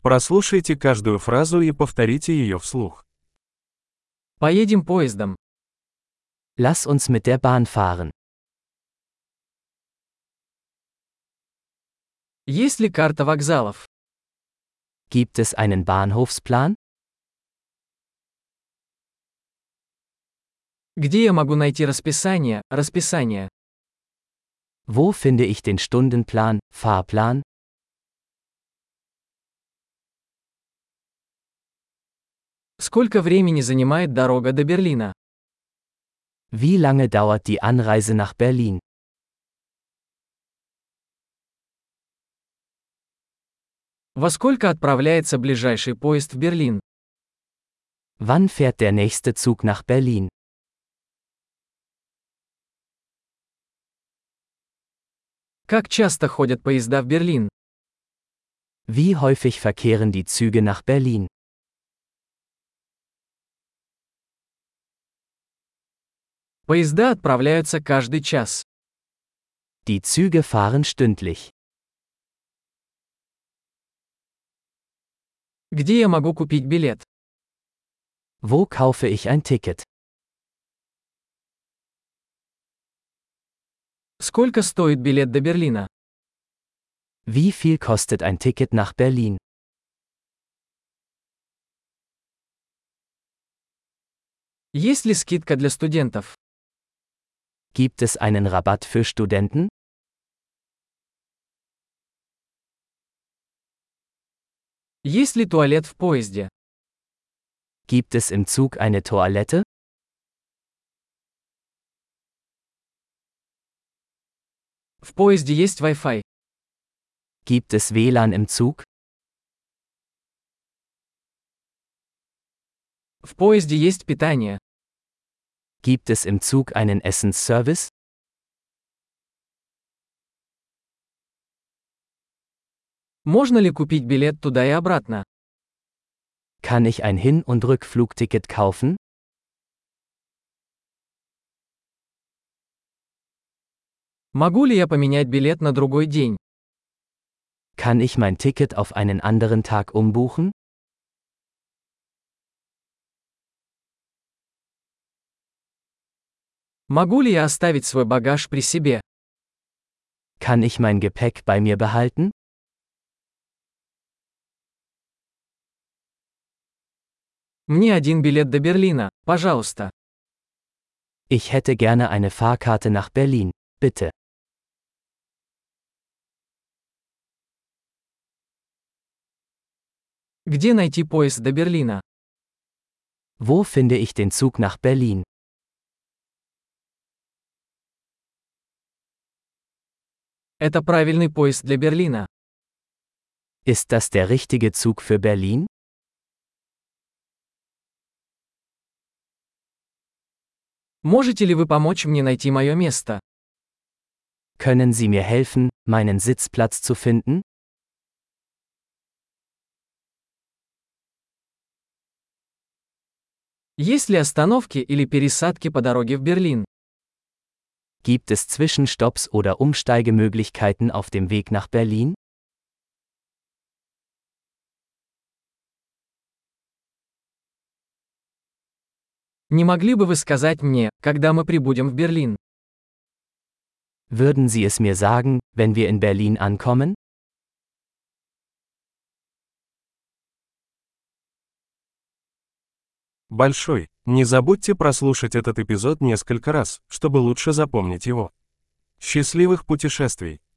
Прослушайте каждую фразу и повторите ее вслух. Поедем поездом. Lass uns mit der Bahn fahren. Есть ли карта вокзалов? Gibt es einen Bahnhofsplan? Где я могу найти расписание? Wo finde ich den Stundenplan, Fahrplan? Сколько времени занимает дорога до Берлина? Wie lange dauert die Anreise nach Berlin? Во сколько отправляется ближайший поезд в Берлин? Wann fährt der nächste Zug nach Berlin? Как часто ходят поезда в Берлин? Wie häufig verkehren die Züge nach Berlin? Поезда отправляются каждый час. Die Züge fahren stündlich. Где я могу купить билет? Wo kaufe ich ein Ticket? Сколько стоит билет до Берлина? Wie viel kostet ein Ticket nach Berlin? Есть ли скидка для студентов? Gibt es einen Rabatt für Studenten? Есть ли туалет в поезде? Gibt es im Zug eine Toilette? В поезде есть Wi-Fi. Gibt es WLAN im Zug? В поезде есть питание. Gibt es im Zug einen Essensservice? Можно ли купить билет туда и обратно? Kann ich ein Hin- und Rückflugticket kaufen? Могу ли я поменять билет на другой день? Kann ich mein Ticket auf einen anderen Tag umbuchen? Могу ли я оставить свой багаж при себе? Kann ich mein Gepäck bei mir behalten? Мне один билет до Берлина, пожалуйста. Ich hätte gerne eine Fahrkarte nach Berlin, bitte. Где найти поезд до Берлина? Wo finde ich den Zug nach Berlin? Это правильный поезд для Берлина. Ist das der richtige Zug für Berlin? Можете ли вы помочь мне найти мое место? Können Sie mir helfen, meinen Sitzplatz zu finden? Есть ли остановки или пересадки по дороге в Берлин? Gibt es Zwischenstopps oder Umsteigemöglichkeiten auf dem Weg nach Berlin? Не могли бы вы сказать мне, когда мы прибудем в Берлин? Würden Sie es mir sagen, wenn wir in Berlin ankommen? Большой. Не забудьте прослушать этот эпизод несколько раз, чтобы лучше запомнить его. Счастливых путешествий!